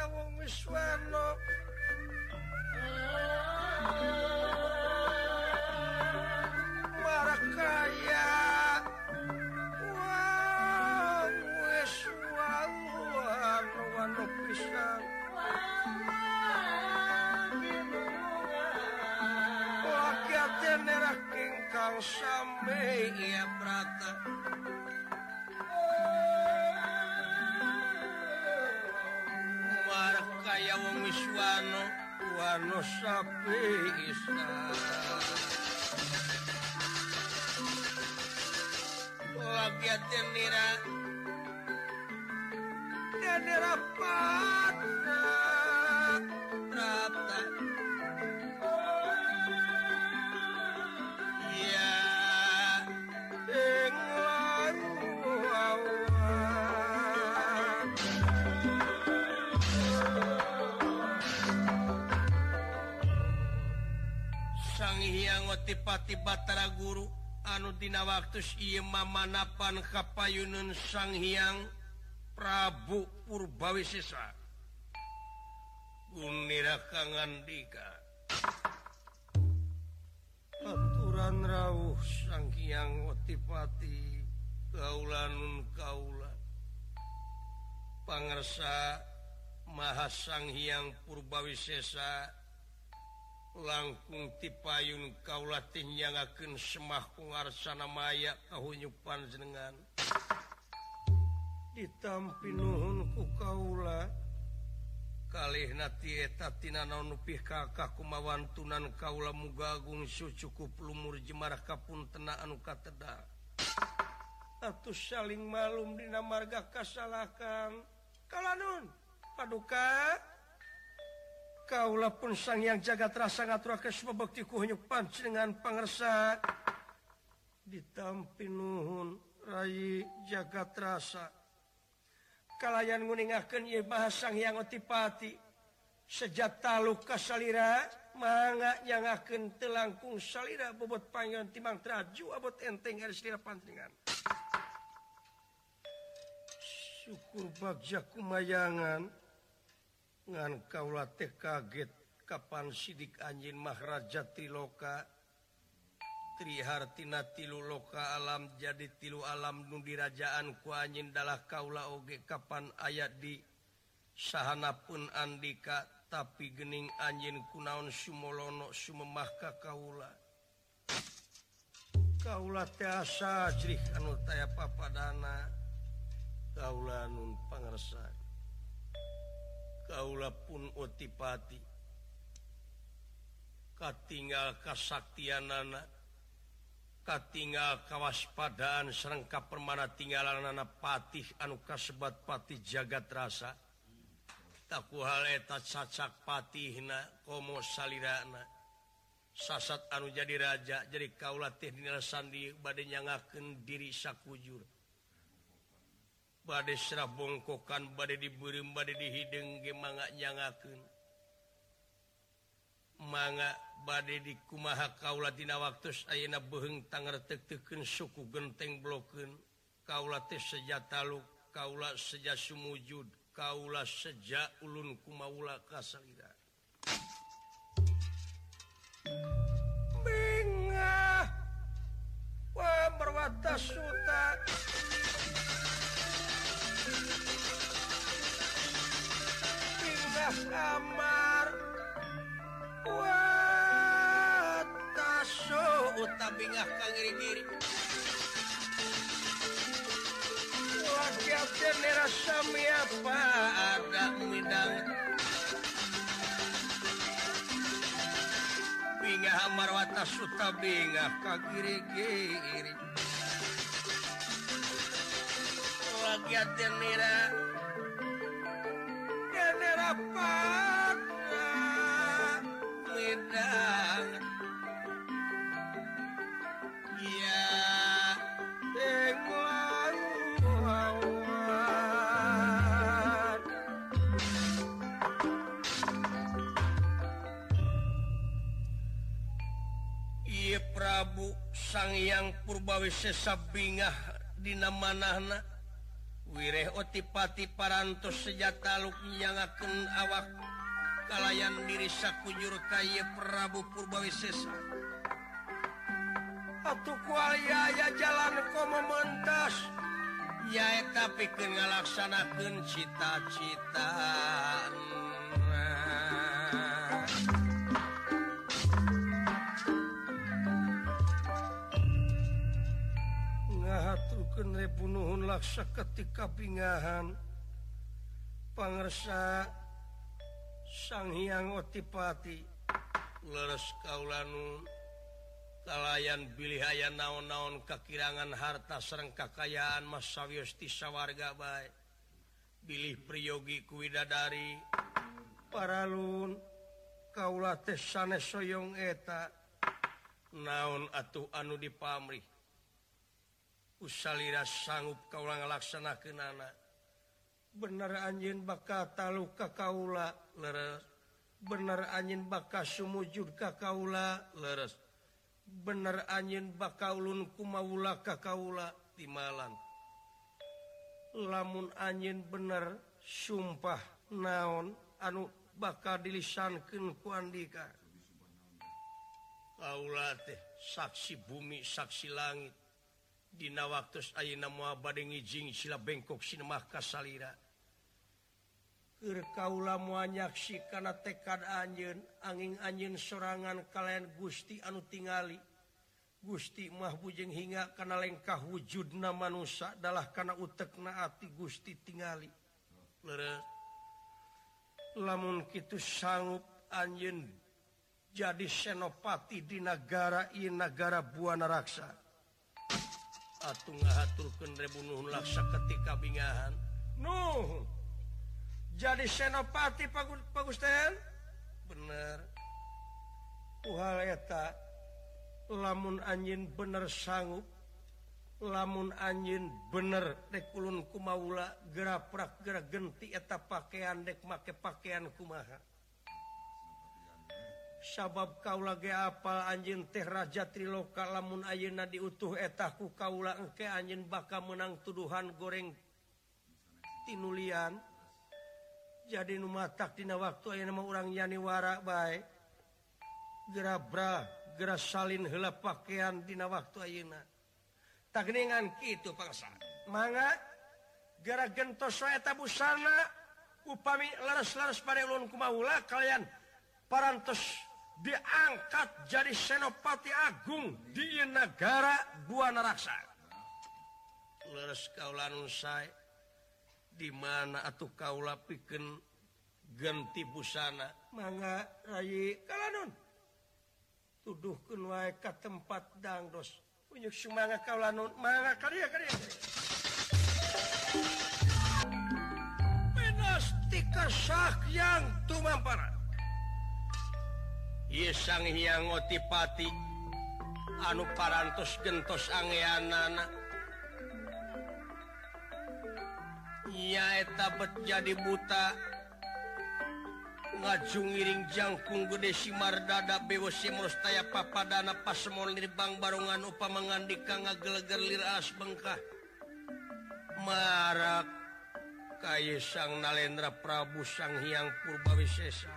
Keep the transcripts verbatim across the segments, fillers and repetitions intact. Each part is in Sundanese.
wong Wiswana Warakaya wong Wiswana wano pisan wakyate nerah kingkang sami ya prata Warakaya wong Wiswana wano sapi isa wakyate nira nira pata prata ya ing lawan Sang Hyang Otipati Batara Guru anu dina waktus ieu mamanapan kapayuneun Sang Hyang Prabu Purbawisesa gunira kangandika aturan rawuh Sang Hyang Otipati kaula nun kaula pangarsa Maha Sang Hyang Purbawisesa langkung tipayun kaula tinyangakeun semah kungarsana maya kahunyupan jenengan ditampi nuhun ku kaula kalihna ti eta tina naon upih kakah kumawan tunan kaula muga agung sucukup lumur jemarah kapuntena anu katedal atus saling malum dina marga kasalakan kalanun paduka kaula pun Sang Hyang Jagatras ngaturakeun pabekti ku heunyuk panjenengan pangarsa ditampi nuhun Rai Jagatrasa kalayan nguningakeun ieu Maha Sang Hyang Otipati sejak taluk ka salira mangga nyangakeun teu langkung salira bobot pangyon timang traju abot enteng ari salira panjenengan syukur bagja kumayangan ngan kaula teh kaget kapan sidik anjeun Maharaja Triloka Trihartina tilu loka alam jadi tilu alam nu dirajaan ku anjeun dalah kaula oge kapan aya di sahanapun andika tapi geuning anjeun kunaon sumolono sumemah ka kaula kaula teh asa jrih anu taya papadana kaula nun pangarsa kaula pun Otipati katinggal kasaktianana katinggal kawaspadaan sareng kapermana tinggalanana patih anu kasebat patih Jagatrasa takuhal eta cacak patihna komo salirana sasat anu jadi raja jadi kaula teh dina sandi bade nyangakeun diri sakujur bade serah bongkokan bade dibeureum bade dihideung ge mangga nyangakeun mangga bade dikumaha kaula dina waktos ayeuna beuheung tangartek-tekeun suku genteng blokeun kaula teh seja taluk kaula seja sumujud kaula seja ulun kumaula ka salira bingah wa marwata suta kamar wataso utabingah kagiri-giri wakyate nera sami apa ada midang bingah amar wataso tabingah kagiri-giri wakyate nera pada medang ya englang wawan ieu Prabu Sang Hyang Purbawisesa bingah dina manahna wireh otipati parantos sejata luknyangakeun awak kalayan diri sakujur kaya Prabu Purbawisesa atuh kualiaya ya jalan komo mentas ya eta pikeun ngalaksanakeun cita-cita ngahaturkeun repunuhun laksa ketika pingahan pangersa Sang Hyang Otipati leres kaulanu kalayan bilih aya naon-naon kakirangan harta sareng kakayaan mas sawios ti sawarga bae bilih priyogi ku widadari paralun kaula teh sanes soyong eta naon atuh anu dipamrih usalira sanggup kaula ngalaksanakeunana bener anjeun bakal talu ka kaula leres bener anjeun bakal sumujud ka kaula leres bener anjeun bakal ulun kumaula ka kaula timalan lamun anjeun bener sumpah naon anu bakal dilisankeun ku Andika kaula teh saksi bumi saksi langit dina waktos ayeuna moal bade ngijing sila bengkok sinemah kasalira keur kaula moal nyaksi kana tekad anjeun angin anjeun sorangan kalayan Gusti anu tingali Gusti mah bujeng hingga kana lengkah wujudna manusia dalah kana utekna ati Gusti tingali leres lamun kitu sanggup anjeun jadi senopati di negara ieu negara Buana Raksa atuh ngahaturkeun rebunuhun laksa ketika bingahan nuh jadi senopati pagusten bener uhal eta lamun anjeun bener sanggup lamun anjeun bener dek ulun kumaula geraprak gera genti eta pakaian dek make pakaian kumaha sabab kaula ge apal anjeun teh raja triloka lamun ayeuna diutuh eta ku kaula engke anjeun bakal menang tuduhan goreng tinulian jadi nu matak dina waktu ayeuna mah urang nyani wara bae gera bra gera salin heula pakaian dina waktu ayeuna tak geuningan kitu pangsa mangga gara gentos wae eta busana upami leres-leres pare ulun kumaula kalian parantos diangkat jadi senopati agung di negara Buana Raksa leres kaula anu sae di mana atuh kaula pikeun ganti busana mangga rai kalanun tuduhkeun wae ka tempat dangdos unyuk sumangga kaula nun mangga karya karya menastika sakyang tumampara ieu Sang Hyang Otipati anu parantos gentos anggeanana nyaeta bet jadi buta ngajungiring jangkung gede Simardada bewo simrustaya papadana pasemon lirbang barongan upama ngandika ngageleger liras bengkah marak kaya Sang Nalendra Prabu Sang Hyang Purbawisesa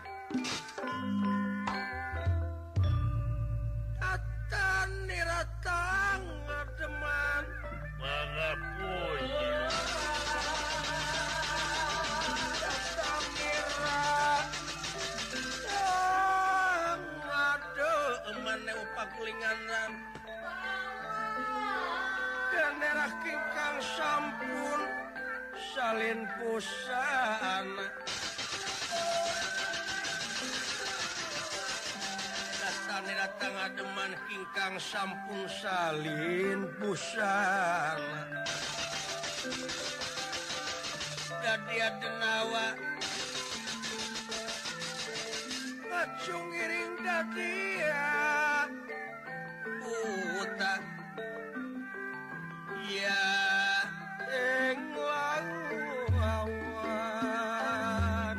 atan niratang ngademan pangapunya pakulinganan daerah kingkang sampun salin pusana datane datang ademan kingkang sampun salin pusana dadi adenawa ngacungiring dadia buta ya ing lawan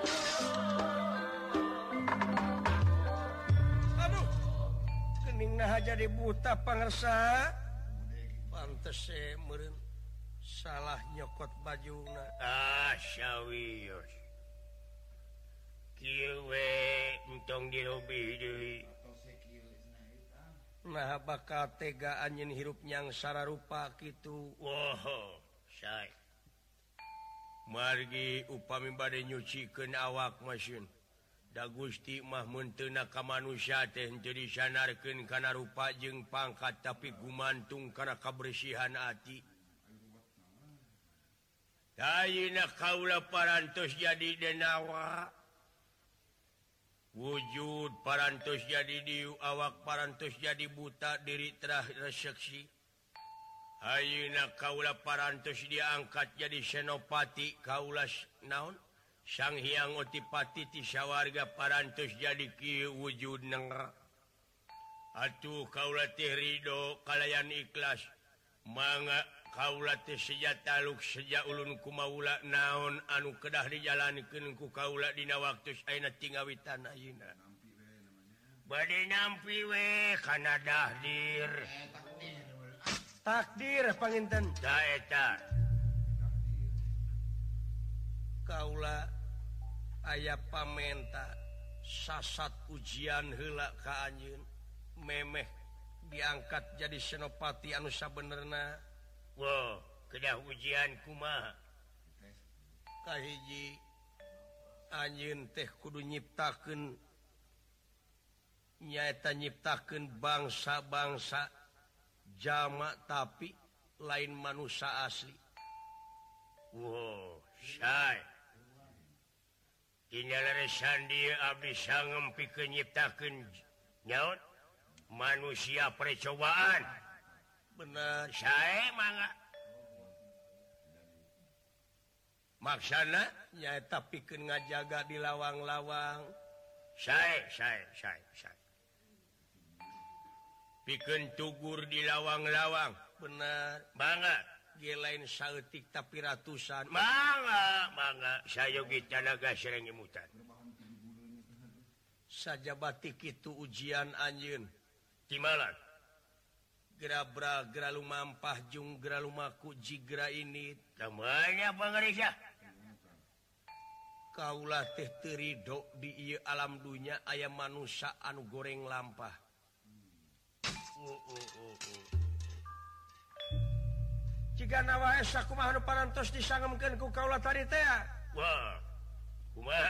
aduh gening nah jadi buta pangersa pantes meureun salah nyokot bajuna asyawios kieu we entong dirobi deui nah bakal tega anjeun hirup nyang sararupa kitu woh say margi upami bade nyucikeun awak masin da Gusti mah mun teu na ka manusia teh henteu disanarkeun kana rupa jeung pangkat tapi gumantung kana kabersihan ati. Ayeuna kaula parantos jadi denawa wujud parantos jadi diu awak parantos jadi buta diri terah reseksi ayeuna kaula parantos diangkat jadi senopati kaula naon Sang Hyang Otipati ti sawarga parantos jadi kieu wujudna atuh kaula teh ridho kalayan ikhlas mangga kaula teh sejataluk seja ulun kumaula naon anu kedah dijalanikeun ku kaula dina waktu ayeuna tingawitan ayeuna bade nampi we kana dahdir takdir panginten da eta kaula aya pamenta sasat ujian heula ka anjeun memeh diangkat jadi senopati anu sabenerna. Wow, kedah ujian kumaha kahiji anjeun teh kudu nyiptakeun nyaeta nyiptakeun bangsa-bangsa jama tapi lain manusia asli. Wow, say dina leresan dieu abdi sangem pikeun nyiptakeun nyaon manusia percobaan. Bener sae mangga maksana nyaeta pikeun ngajaga di lawang-lawang sae sae sae sae pikeun tugur di lawang-lawang. Bener mangga ge lain saeutik tapi ratusan mangga mangga sayogi tanaga sereng imutan sajabati kitu ujian anjeun timalan gerabra gera lumampah jung gera lumaku jigra ini namanya pangarisa kaula teh teu ridho di ieu alam dunya aya manusia anu goreng lampah. uh, uh, uh, uh. Jigana wae sakumaha anu parantos disangemkeun ku kaula tadi teh wah kumaha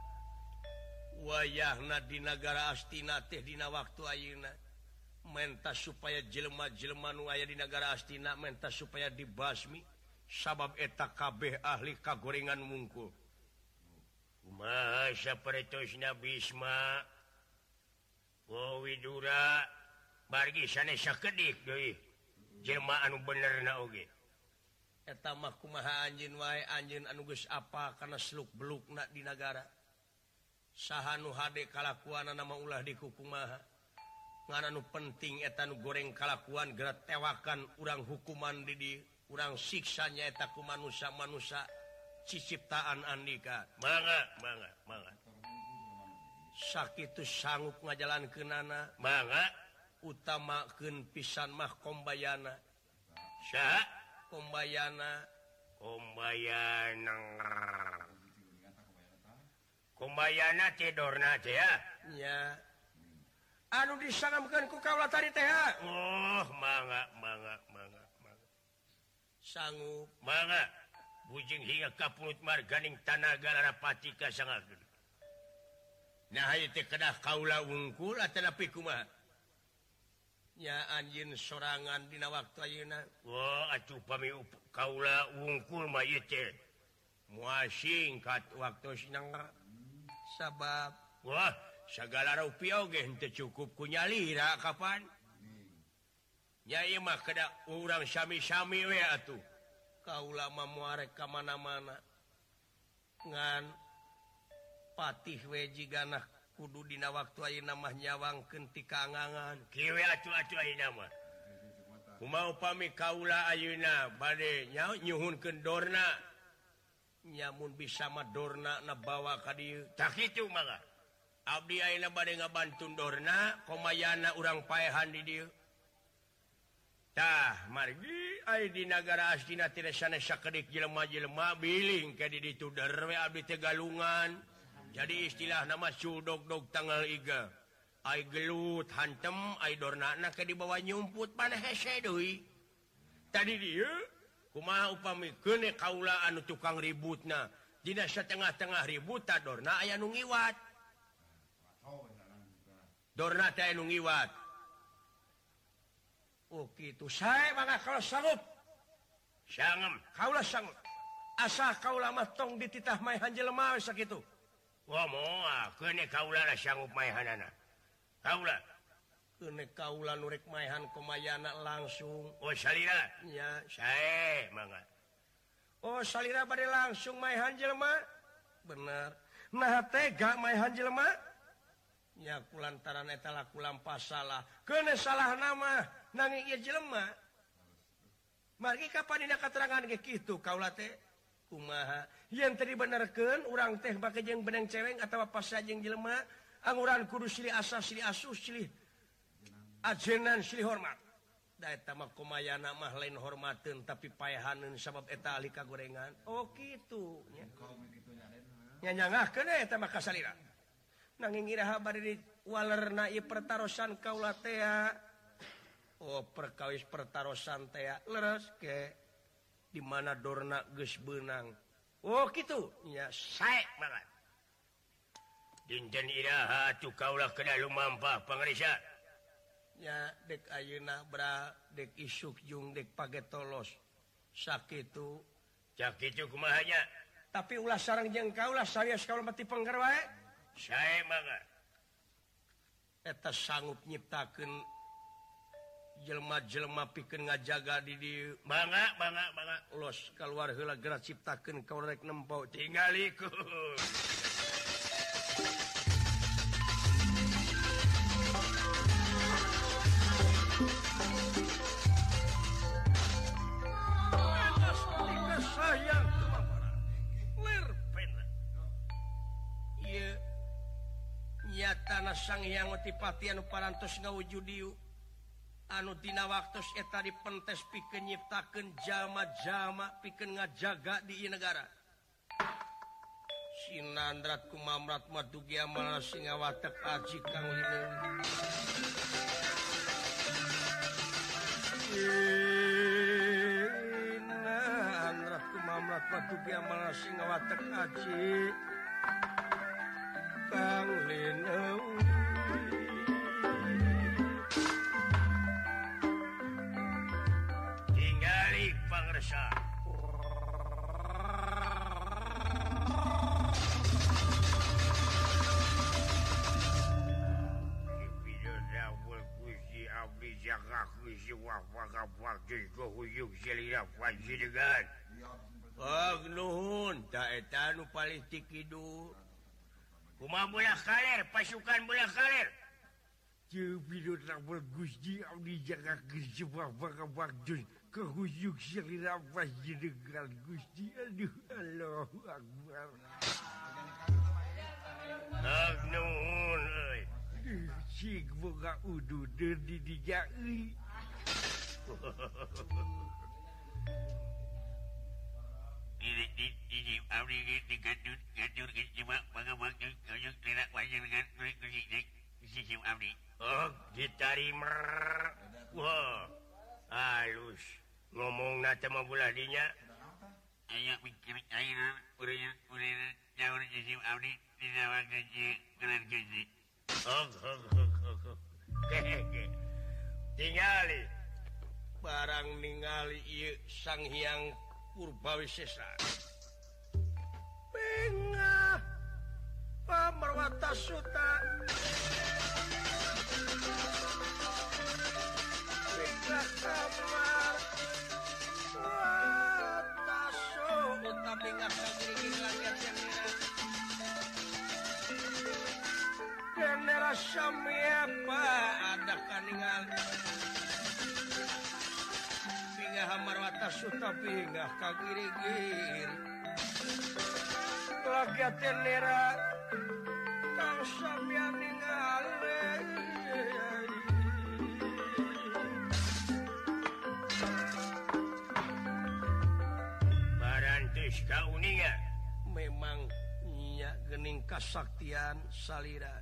wayahna di nagara Astina teh dina waktu ayeuna menta supaya jelema-jelema nu aya di nagara Astina menta supaya dibasmi sabab eta kabeh ahli kagorengan mungkul. Kumaha sapertosna Bisma wo Widura bargi sanes sakedik deui jelema anu benerna oge eta mah kumaha anjeun wae anjeun anu geus apa kana seluk-belukna di nagara saha nu hade kalakuanna mah ulah dikukumaha ngan anu penting eta nu goreng kalakuan geura tewakan urang hukuman di dieu urang siksa nyaeta ku manusia-manusia ciciptaan andika. Mangga mangga mangga sakitu sanggup ngajalankeunana mangga utamakeun pisan mah kombayana saha kombayana kombayana kombayana tidorna teh ya nya anu disangamkeun ku kaula tadi teh oh mangga mangga mangga mangga sanggup mangga bujing hingga kapulut marganing tanaga larapati kasangakeun nah ieu teh kedah kaula wungkul atanapi kumaha nya anjeun sorangan dina waktu ayeuna wah atuh pami kaula wungkul mah ieu teh moal singkat waktosna sabab wah sagala rupiah oge henteu cukup ku nyalira kapan nya ieu mah kedah urang sami-sami we atuh kaula mah moal rek ka mana-mana ngan patih we jigana kudu dina waktu ayeuna mah nyawangkeun ti kaangangan kieu atuh-atuh ayeuna mah kumaha upami kaula ayeuna bade nyuhunkeun dorna nyamun bisa mah dorna na bawa ka dieu tah kitu mangga abdi ayeuna bade ngabantun dorna komayana urang paehan di dieu tah margi ai di negara asdina teu sanes sakedik jelema-jelema biling ka di ditu derwe abdi teh galungan. Jadi istilah nama cudog-dog tanggal iga. Ai gelut hantem ai dornana ke di bawah nyumput panah hese deui. Tadi dieu kumaha upamikeun kaula anu tukang ributna. Dina satengah-tengah ribut ta dorna aya nu ngiwat. Dorna teh anu ngiwat. Oh gitu. Sae mangga kalau sanggup. Sangem. Kaula sanggup. Asa kaula mah tong dititah maehan jelema sakitu. Wah moal, keune kaula lah sanggup maehanana. Kaula. Keune kaula nu rek maehan kumayana langsung. Oh salira. Nya, sae mangga. Oh salira bade langsung maehan jelema. Bener. Nah tega maehan jelema. Nya kulantaran eta laku lampah salah. Keune salah nama. Nanging ieu jelema margi kapan dina katerangan ge kitu kaula teh kumaha yen teu dibenerkeun urang teh bake jeung beneng ceweng atawa pas sajeng jelema anguran kudu silih asa silih asuh silih ajenan silih hormat da eta mah kumayana mah lain hormateun tapi paehaneun sabab eta ahli kagorengan oh kitu nya nya nyangahkeun eta mah kasalira nanging iraha bari diwalerna ieu pertarosan kaula teh oh perkawis pertarosan teh leres ke di mana dorna geus beunang. Oh kitu nya sae banget. Dinten iraha atuh kaula kena lumampah pangrisa. Nya dek ayeuna bra dek isuk jung dek pagetolos. Sakitu. Sakitu kumaha nya? Tapi ulah sareng jeung kaula sarias kaula mati pengger wae. Sae banget. Eta sanggup nyiptakeun jelema-jelema pikeun ngajaga di dieu. Bangga, bangga, bangga. Ulos kaluar heula geura ciptakeun kaula rek nempo tingalikeun. Enas sayang kemampuan. Lir pena. Ieu nyatana Sang Hyang Otipati anu parantos ngawujud dieu. Anu dina waktos eta dipentes pikeun nyiptakeun jalma-jalma pikeun ngajaga di ieu negara. Sinandrat kumamrat madugi amal singawatek aji kang lineung. Sinandrat kumamrat madugi amal singawatek aji kang lineung. Pangresa. Nuhun, tak eta nu politik hidup. Kumaha bola kaler, pasukan bola kaler. Jepidot rabul Gusti abdi jaga Gusti wah-wah jus. Kehuyuk salira panjenengan Gusti aduh Allahu Akbar. Nuhun euy. Cik boga ududeur di dinya euy. Ini di di abdi di gadur gadur cuma bangga-bangga kayuk lina panjenengan Gusti abdi. Oh, ditarima. Wah. Halus. Ngomong nate mah bulah dinya. Aya mikir ayeuna urang urang nyaur jeung abdi dina waktu kelan Gusti. Oh, oh, oh, oh. Tingali barang ningali ieu Sang Hyang Purbawisesa. Bengah pamarwata suta. Bengah kamar. Wata suta bengah kagring langit yang ina. Kendera samiapa ada kaningal. Bengah marwata suta bengah kagirigir. Lagi tenera kang sampeyan ningali memangnya gening kasaktian salira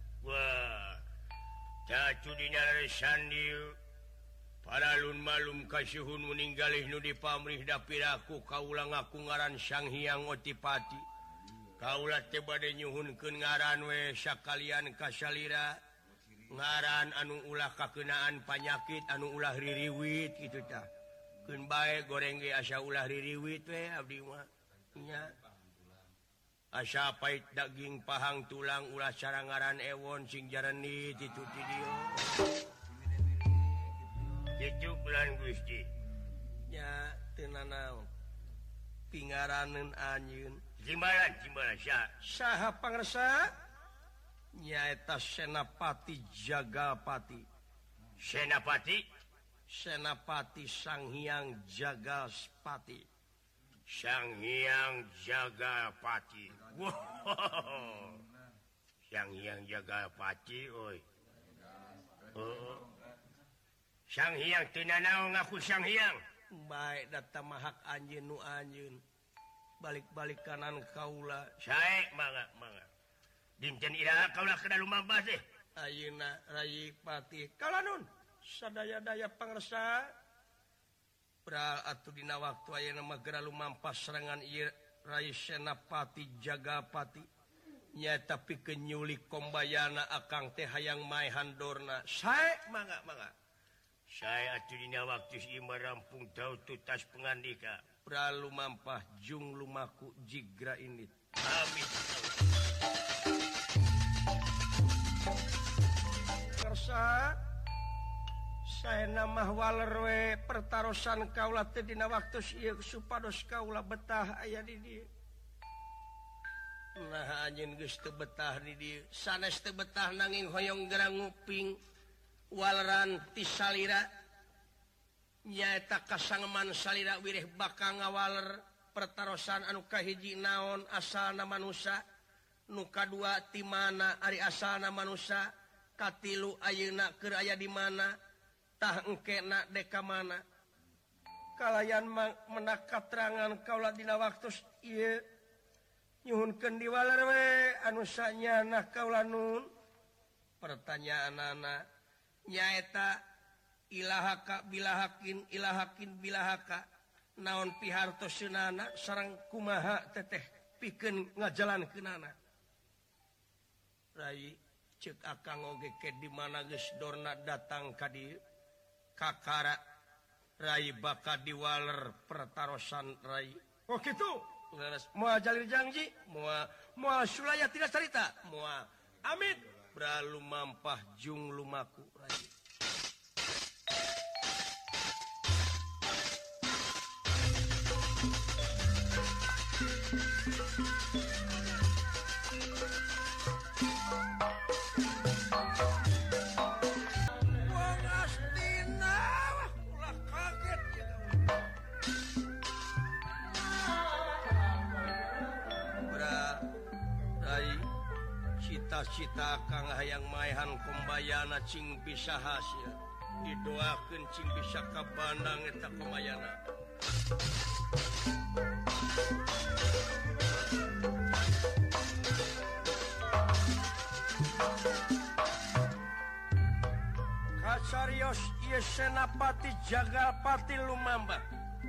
paralun malum kasyhun meninggalih nu di pamrih dapiraku kaulah ngaku ngaran Sang Hyang Otipati kaulah tebade nyuhunkeun ngaran we sakalian kasalira ngaran anu ulah kakenaan panyakit anu ulah ririwit kitu tah keun bae goreng ge asa ulah ririwit we abdi mah nya asa pait daging pahang tulang ulah cara ngaran ewon sing jarenit itu ti dieu kitu bulan Gusti nya teu nanaon pingaraneun anjeun jimbalan jimbalan sah saha pangarsa nyaeta Senapati Jagalpati Senapati Senapati Sang Hyang Jagaspati Sang Hyang Jagalpati wow. Sang Hyang Jagalpati oi oh. Sang Hyang teu nanaon ngaku Sang Hyang baik data mahak anjeun nu anjeun balik-balik kanan kaula sae mangga mangga dinten iraha kaula kada lumambah teh ayeuna Rai Pati kalanun sadaya-daya pangarsa pra atuh dina waktu ayeuna mah geura lumampah serangan ieu Rai Senapati Jagapati nyaeta pikeun nyulik kombayana akang teh hayang mae handorna sae mangga mangga saya atuh dina waktu ieu rampung tau tutas pangandika pra lumampah jung lumaku jigra init amin kersa saena mah waler we pertarosan kaula teh dina waktu ieu supados kaula betah aya di dieu nah anjeun geus teu betah di dieu sanes teu betah nanging hoyong gerang nguping waleran ti salira nyaeta kasangeman salira wirih bakal ngawaler pertarosan anu kahiji naon asalna manusia nu kadua ti mana ari asalna manusia katilu ayeuna keur aya di mana tah engkena deka mana kalayan menak katerangan kaula dina waktu ieu nyuhunkeun diwaler we anu sanyana kaula nun pertanyaanana nyaeta ilahaka bilahakin ilahakin bilahaka naon pihartoseunana sareng kumaha teteh pikeun ngajalankeunana Rai ceuk akang oge ke di mana geus dorna datang ka dieu kakara Rai baka diwaler pertarosan Rai oh kitu moal jalir janji moal moal sulaya tidak cerita moal amit bralu mampah jung lumaku Rai cita kang hayang maehan kombayana cing bisa hasil didoakeun cing bisa kabandang eta kombayana kasarios ieu Senapati Jagalpati lumambah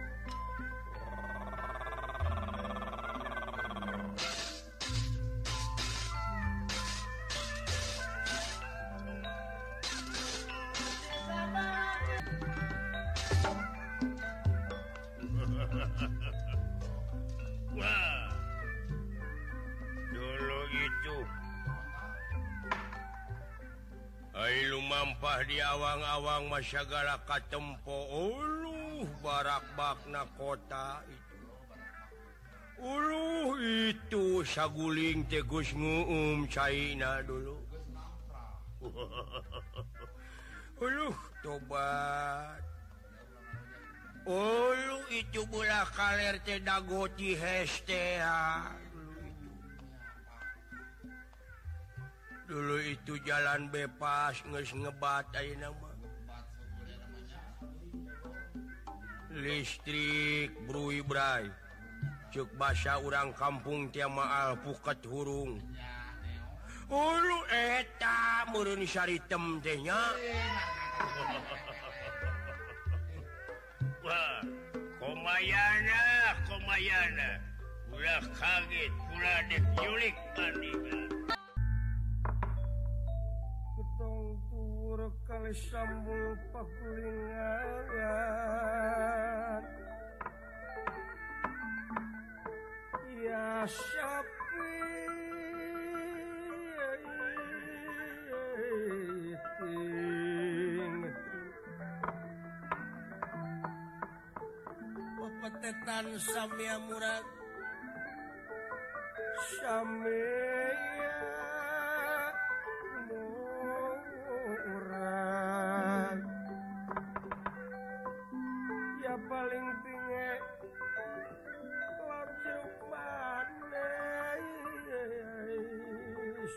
lumampah di awang-awang masyagala katempo uluh barak bakna kota itu uluh itu saguling tegus nguum China dulu uluh tobat uluh itu bola kaler teh dagoti hestea dulu itu jalan bebas geus ngebat ayeuna mah listrik brui bray cuk basa urang kampung tiamaal puket hurung ulu eta meureun saritem teh nya wah komayana komayana ulah kaget ulah dek nyulik pandina ketong tur kali sambul pakulingan ya sapi pepetetan samia murad samia murad ya paling pinge langsung manis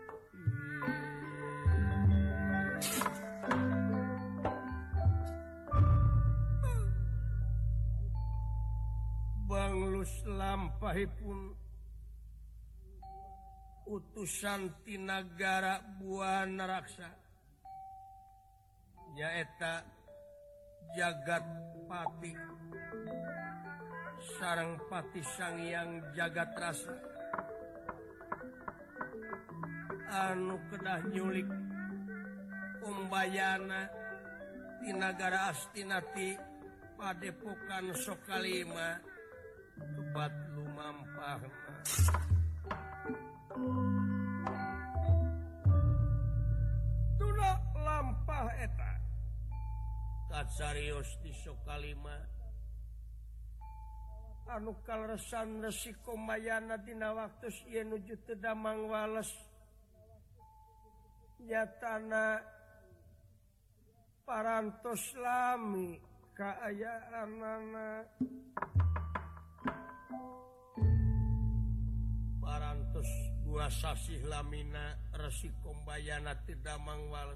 Banglus lampahipun utusan ti nagara Buana Raksa nyaeta Jagat Pati sareng Pati Sangyang Jagat Rasa anu kedah nyulik Umbayana di nagara Astinati Padepokan Sokalima kebat lumampahna tuna lampah eta kacarios di Sokalima anu kaleresan Resi Komayana dina waktos ieu nuju teu damang wales nyatana parantos lami kaayaanana parantos dua sasih lamina Resi Kombayana teu damang wales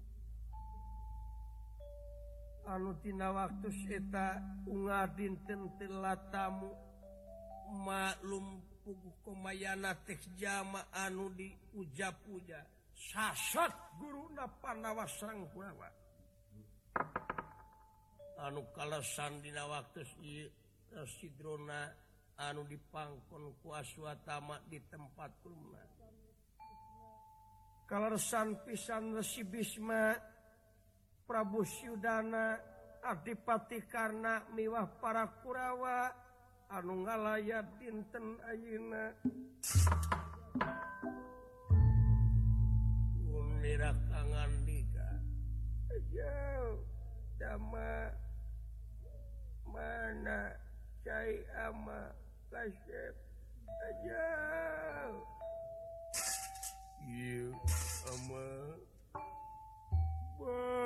anu tina waktos eta unga dinten telatamu maklum puguh Komayana teh jama anu diuja-puja sasat guruna Panawasrang Kurawa anu kalesan dina waktos ieu Sidrona anu dipangkon ku Aswatama di tempat kulna kaleresan pisan Resi Bisma Prabu Syudana Adipati Karna miwah para Kurawa anu ngalayat dinten ayeuna Unira kangandika jauh dama mana Cai ama kasep jauh ieu ama wah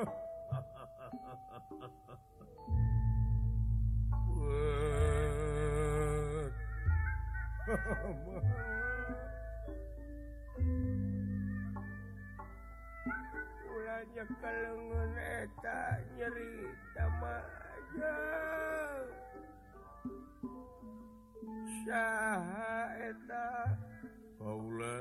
ulanya kalengan eta nyeri tama aja saha eta kaula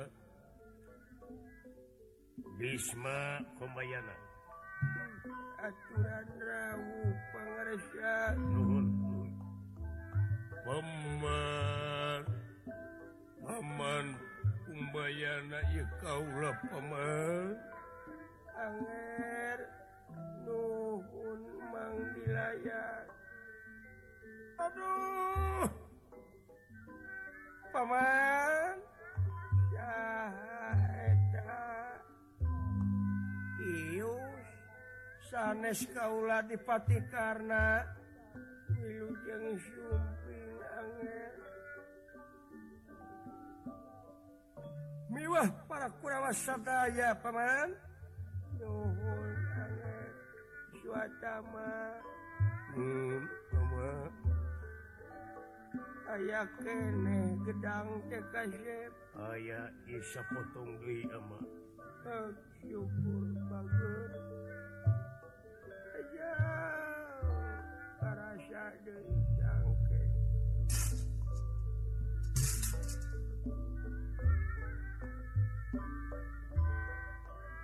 Bisma Kombayana aturan rawuh pangaresa nuhun paman paman Umbayana ieu kaula paman anger nuhun mang dilayat aduh paman saha eta ius sanes kaula dipati karna wilujeng sumping anger miwah para Kurawa sadaya paman nuhun anger Swatama hmm paman aya keneh gedang teh kasep aya isa potong deui ama syukur bagus aja karasa deui jangke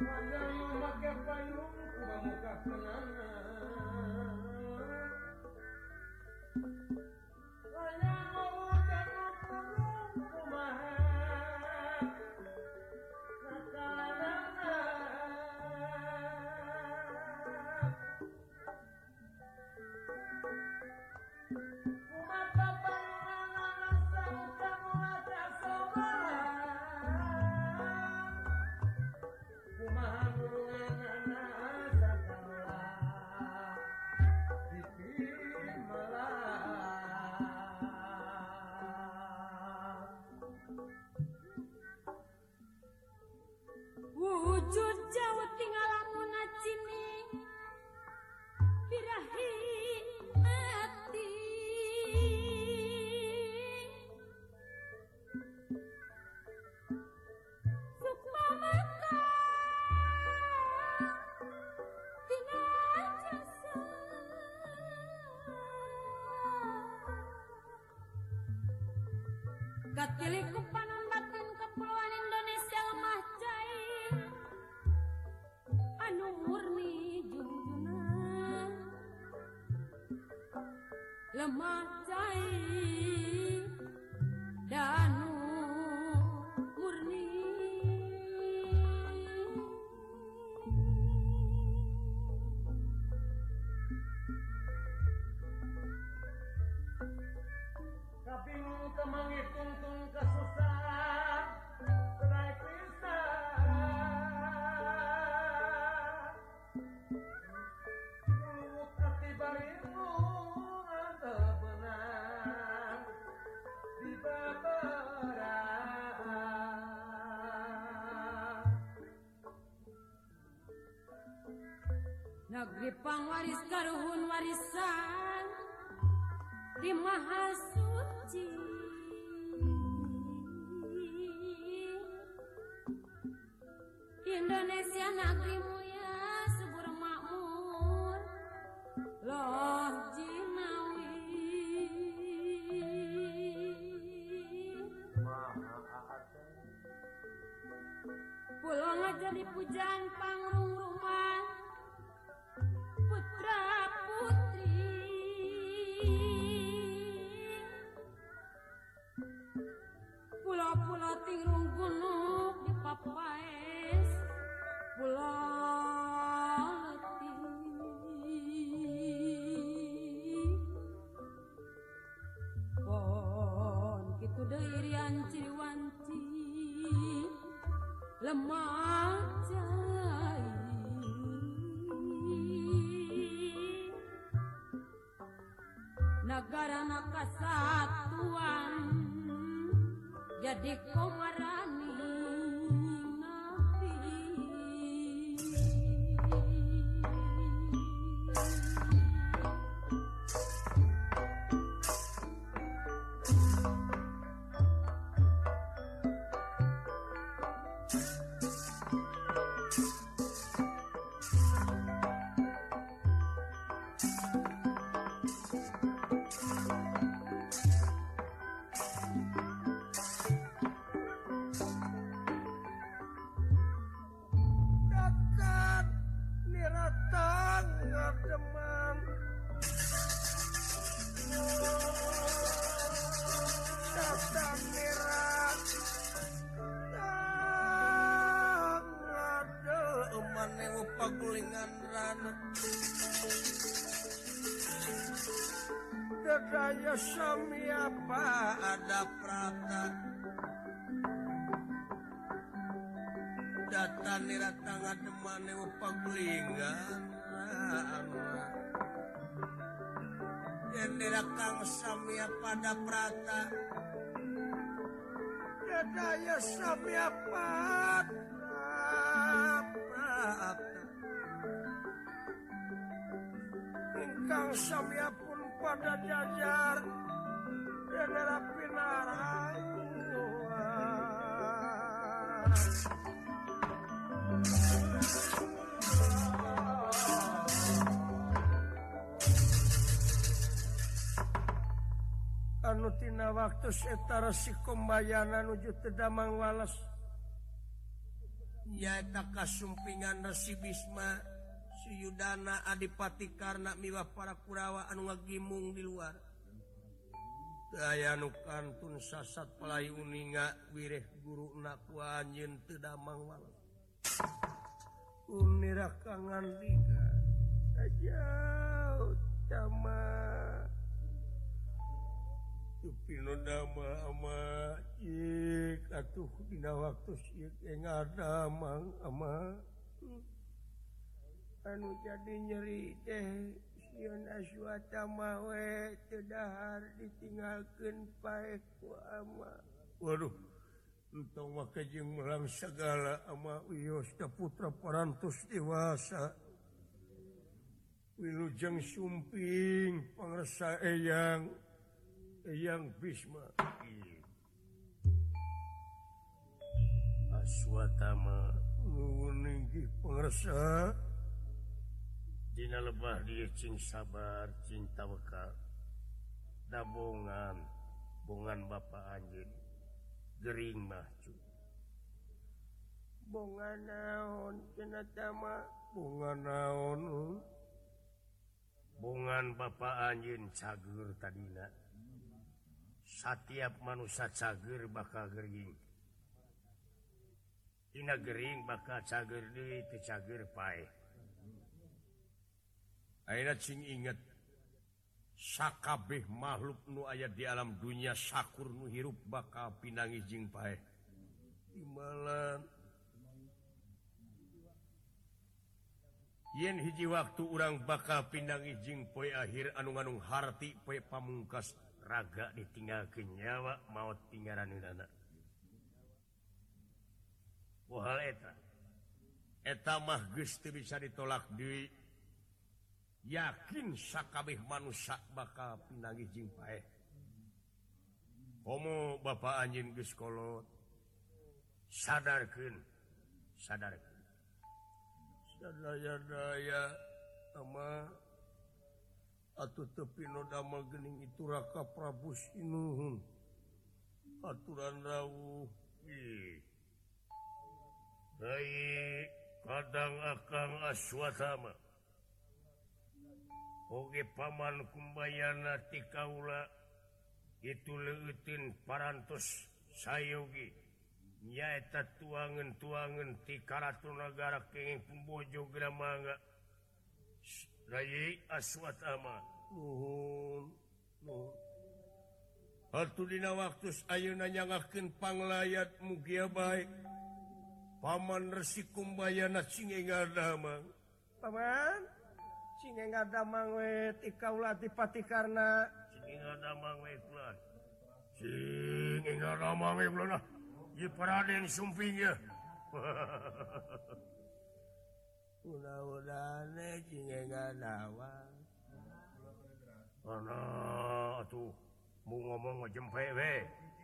Wujud jauh tinggal lamun cini birahi hati sukma maka tina jasa katili kupanon batin kepulauan Indonesia lemah jai anu murni junjungan lemah cai danu murni kabingung kemangi tungtung kesusahan serai pisah Luluk hati barimu ada benang di babaran negeri pangwaris karuhun warisan di maha suci Indonesia negeri mulia subur makmur loh jinawi pulau ngajari pujaan pangrung rumah putra putri pulau-pulau tingrung gunung di Papaes pulau letih pon kitu deui rian ciriwanci lemah jai negara kesatuan jadi komarani nabi Dakan niratang ngademan datang nirat tang ngademan newo pagulingan rana dadaya sami apa ada prata data nirata ngademane pagulingan yen nirakang samia pada prata dadaya samia pada ingkang samia pun pada jajar dadara pinarayu anu tina waktu setara si kombayana nuju teu damang walas nyaeta kasumpingan Resi Bisma Suyudana Adipati karena miwah para Kurawa anu ngagimung di luar daya nu kantun sasat pelai uninga wireh guru naku anjeun teu damang walau unira kangandika ajau cama Tupino dama ama ik atuh dina waktu sieu ngadamang ama anu jadi nyeri teh sieun aswata mah we teu dahar ditinggalkeun pae ku ama. Waduh entong mah kajeng melang sagala ama wios da putra parantos dewasa wilujeng sumping pangresa eyang eyang Bisma Aswatama nuwun inggih pangresa dina lebah dia cing sabar cing tawakal da bongan bongan bapa anjeun gering mah cu bongan naon cenah tama bongan naon bongan bapa anjeun cager tadina satiap manusia cager bakal gering dina gering bakal cager deui teu cager pae ayeuna cing inget sakabeh makhluk nu aya di alam dunia sakur nu hirup bakal pinangih jeung paeh imbalan yen hiji waktu urang bakal pinangih jeung poe akhir anu ngandung harti poe pamungkas raga ditinggalkeun nyawa maot tingaraneunana pohal eta eta mah geus teu bisa ditolak deui yakin sakabeh manusia bakal pinangih jeung paeh komo bapa anjeun geus kolot sadarkeun sadarkeun sadaya-daya ama atuh teu pino damel geuning itu Raka Prabu Sinuhun aturan rawuh ih baik kadang akang Aswatama oge paman kumbayana ti kaula itu leueuteun parantos sayogi nyaeta tuangeun-tuangeun ti Karatu Nagara kenging pembojo Gramangga Rai Aswatama nuhun nuhun atuh dina waktu ayeuna nyangakeun panglayat mugia bae paman Resi Kumbayana cinge ngadamang paman cinge ngadamang we ti kaula ti Patikarna cinge ngadamang we kulan cinge ngadamang we kulan ieu Raden sumping ya mudah-mudahane cinge ngadamang ana atuh mu ngomong ngejempe we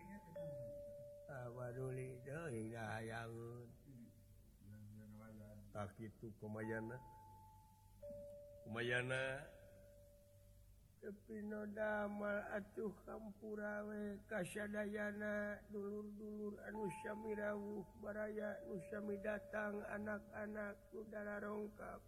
awaduli deui dahayangeun tak kitu kumayana kumayana tepino damal atuh kampura we kasadayana dulur-dulur anu sami rawuh baraya nu sami datang anak-anak udara rongkap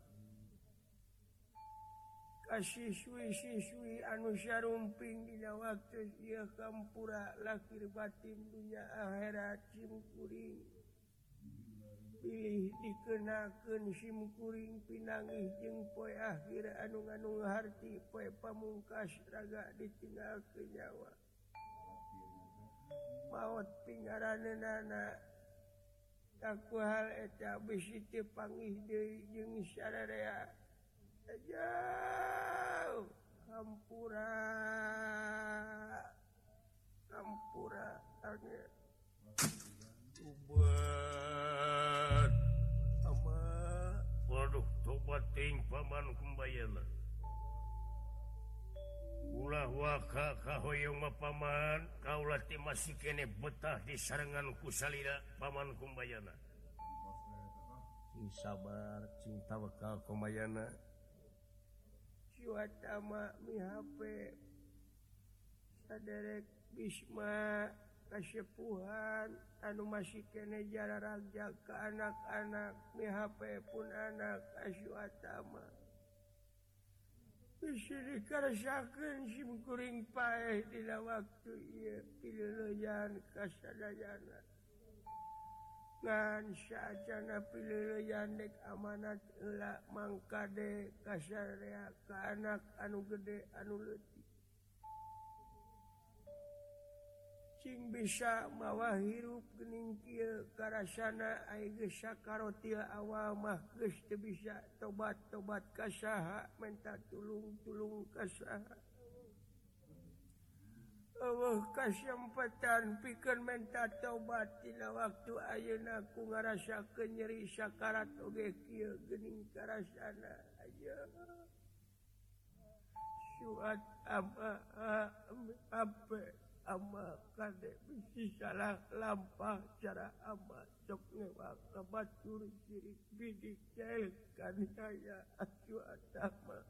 kasiswi-siswi anu sarumping dina waktu ieu kampura lahir batin dunya akhirat simkuring pilih dikenakeun simkuring pinangih jeung poe akhir anu ngandung harti poe pamungkas raga ditinggalkeun nyawa maot pingaraneunana taku hal eta bisi teu pangih deui jeung sararea jauh kampura kampura ane tobat ama waduh tobat ting paman Kumbayana ulah waka kahoyong mah paman kaula teh masih kene betah di sarengan ku salira paman Kumbayana cing sabar cing tawakal Kumbayana Aswatama mihape saderek Bisma kasepuhan anu masih kene jara raja ke anak-anak mi H P pun anak asyuatama bisa dikarasakeun sim kuring paeh dina waktu ieu pileuleyan kasadayana ngan saacana pileuleyan dek amanat heula mangkade kasarea ka anak anu gede anu leutik cing bisa mawa hirup geuning kieu karasana aya geus sakaratil awal mah geus teu bisa tobat-tobat ka saha minta tulung-tulung ka saha Allah kasempatan pikeun minta tobat tina waktu ayeuna ku ngarasakeun nyeri sakarat oge kieu geuning karasana aya suat ama apa ama kade bisi salah lampah cara ama sok ngewa kabatur sirik bidik jail kan saya acu atama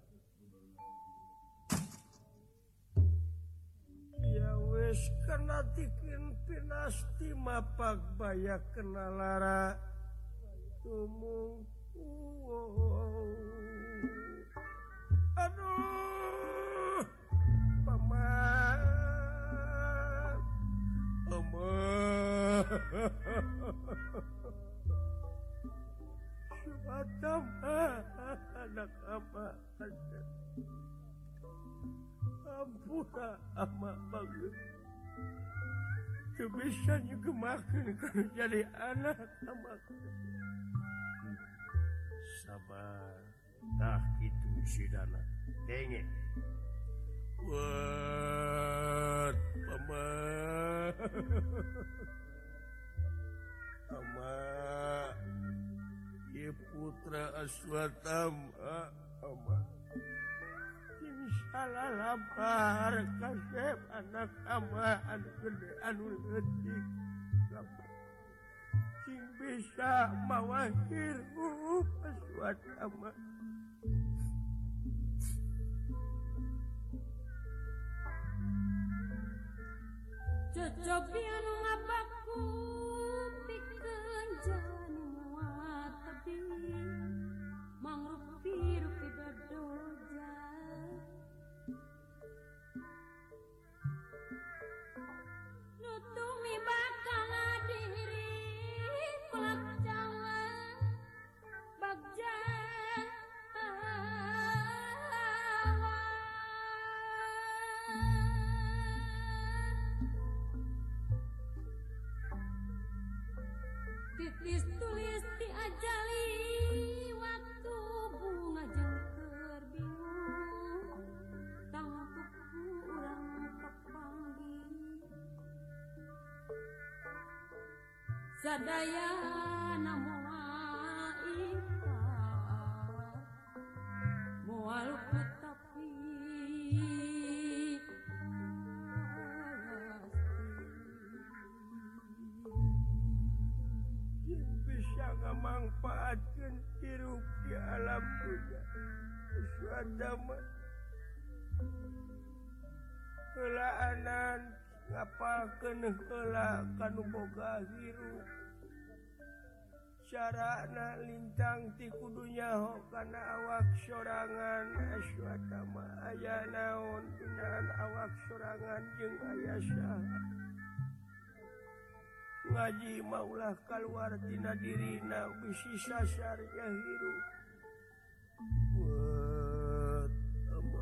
ya wes kena tikin pinasti mapak bayak kena lara tumung wow. Aduh paman Ama Suatam anak apa ampura ama bagus bisa nyegemakeun kana jadi anak ama sabar tah kitu sidana denge Wat, mama, ama, ye putra Aswatama, ama, ini salah lapar kasep anak ama anu gede anu leutik, sing bisa mawa hirup Aswatama. Cocobi anu ngabaku pikeun jalan muat tebi mangrup pirup dodoja nutumi bakal diri pelak jalan bagja titis tulis diajali waktu bunga jengker bingung tangtuk urang kepanggih sadaya moal ikhlas moal tapi ngamanfaatkeun hirup di alam dunia suadama heula anan ngapalkeun heula kanu boga hirup carana lintang ti kudu nyaho kana awak sorangan suadama aya naon dinaan awak sorangan jeung aya saha ngaji maulah keluar tina dirina bisi sasarnya hirup wat ama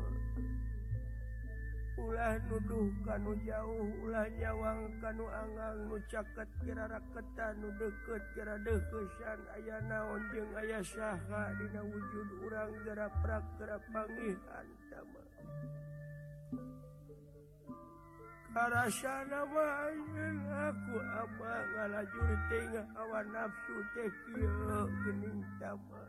ulah nuduh kanu jauh ulah nyawang kanu angang nu caket kira raketan nu deket kira deukesan aya naon jeung aya saha dina wujud urang gerak prak gerak pangihan tama karasana mah aku ama ngalajur tengah hawa nafsu teh kieu geuning tama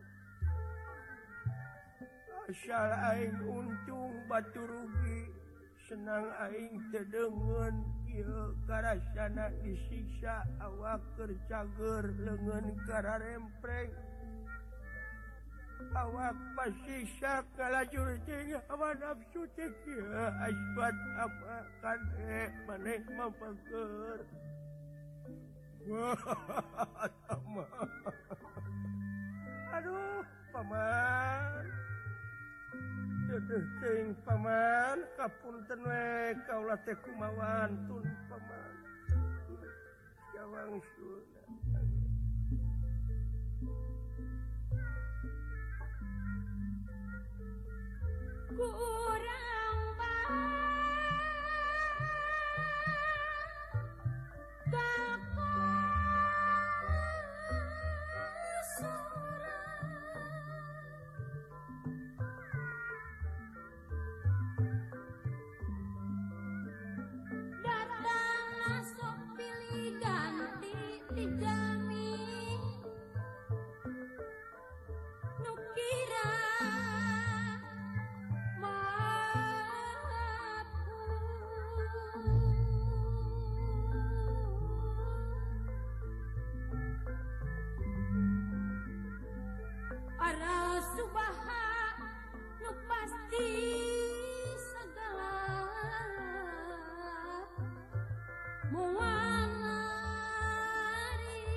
asal aing untung batu rugi senang aing teu deungeun kieu karasana disiksa awak keur cager leungeun kararempreng awak pasisa kalajur jeung hawa nafsu teh asbat apa kan eh maneh mampageur wah sama aduh paman teuh teuing paman kapunten we kaula teh kumawan tun paman jawang suna kurang datang masuk pilih ganti dijami nukira Ara subaha nu pasti segala muanari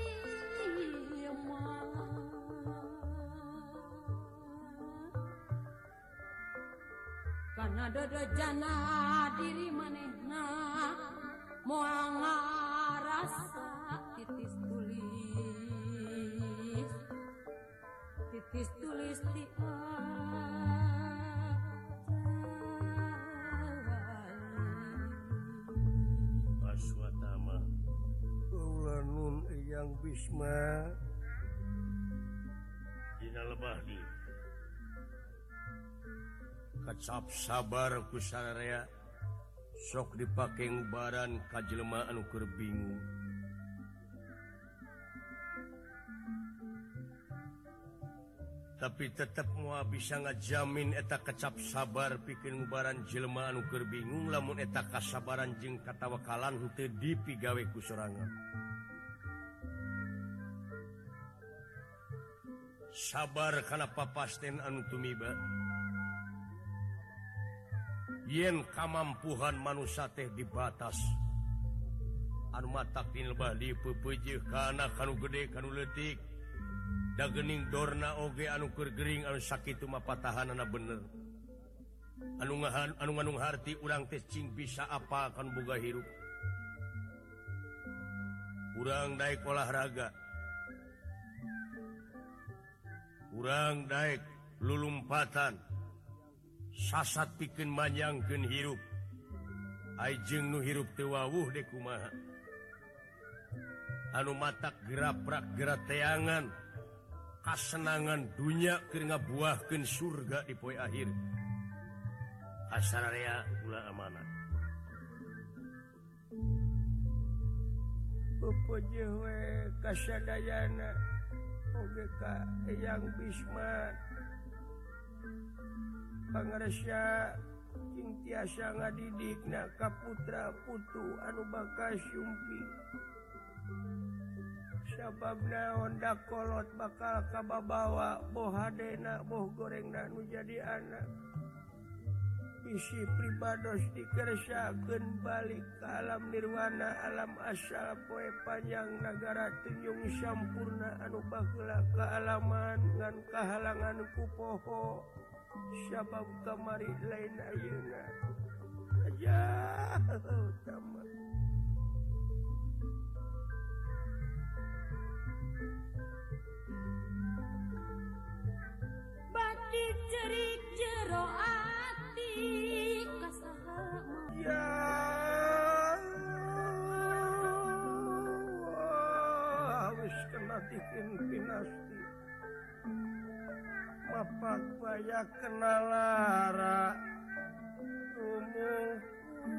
karena dodo jana diri manehna moal ngarasa titis tulis titis tulis di Aswatama ulanun yang bisma dina lebah di kacap sabar ku sararea sok dipake ngubaran ka jelema anu keur bingung tapi tetep moal bisa ngajamin eta kecap sabar pikeun ngubaran jelema anu keur bingung lamun eta kasabaran jeung katawakalan henteu dipigawe ku sorangan sabar kana papasten anu tumiba yen kamampuhan manusia teh dibatas anu matak di lebah dipeupeujeuh kana kanu gede kanu leutik da geuning dorna oge anu keur gering anu sakitu mah patahanana bener anu ngahan anu ngandung harti urang teh cing bisa apa kan boga hirup urang daek olahraga urang daek lulumpatan sasat pikeun manyangkeun hirup ajeung nu hirup teu wawuh deh kumaha anu matak geraprak gerateangan kasenangan dunya keur ngabuahkeun surga di poe akhir asararea ulah amanat pupujeuh we kasadayana oge ka Eyang Bisma pangaresa cing tiasa ngadidikna ka putra putu anu bakas sumpi sababna honda kolot bakal kababawa boh hadena boh gorengna nu jadi anak isi pribados dikersakeun balik ke alam nirwana alam asal poe panjang nagara tunjung sampurna anu baheula kaalaman ngan kahalangan ku poho sabab kamari lain ayeuna aja utama bati cerik jero ati kasaha ya wis kena tikin pinasti mapak baya kena lara tumuku